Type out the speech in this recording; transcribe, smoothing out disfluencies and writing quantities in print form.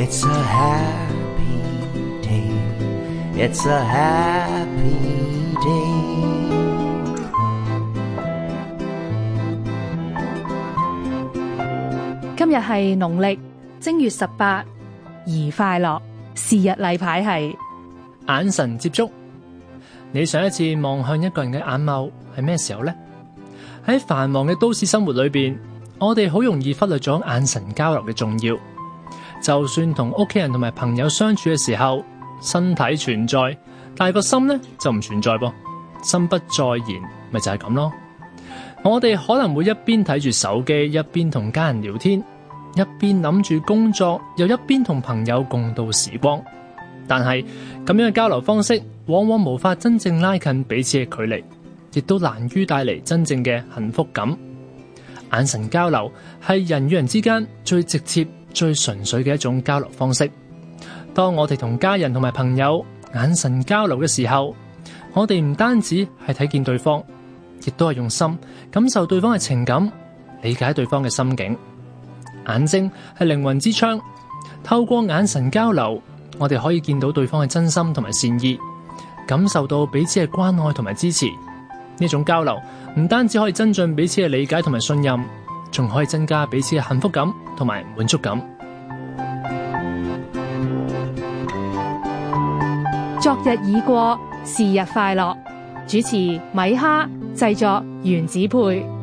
It's a happy day. It's a happy day. 今日係農曆正月18，宜快樂。是日例牌係眼神接觸。你上一次望向一個人嘅眼眸係咩時候呢？喺繁忙嘅都市生活裏邊，我哋好容易忽略咗眼神交流嘅重要。就算同屋企人同埋朋友相處嘅時候，身體存在，但係個心呢就唔存在噃。心不在焉，咪就係咁咯。我哋可能會一邊睇住手機，一邊同家人聊天，一邊諗住工作，又一邊同朋友共度時光。但係咁樣嘅交流方式，往往無法真正拉近彼此嘅距離，亦都難於帶嚟真正嘅幸福感。眼神交流係人與人之間最直接、最純粹嘅一種交流方式。當我哋同家人同埋朋友眼神交流嘅時候，我哋唔單止係睇見對方，亦都係用心感受對方嘅情感，理解對方嘅心境。眼睛係靈魂之窗，透過眼神交流，我哋可以見到對方嘅真心同埋善意，感受到彼此嘅關愛同埋支持。呢種交流唔單止可以增進彼此嘅理解同埋信任，仲可以增加彼此嘅幸福感同埋滿足感。 昨日已過，是日快樂。主持米哈，製作原子配。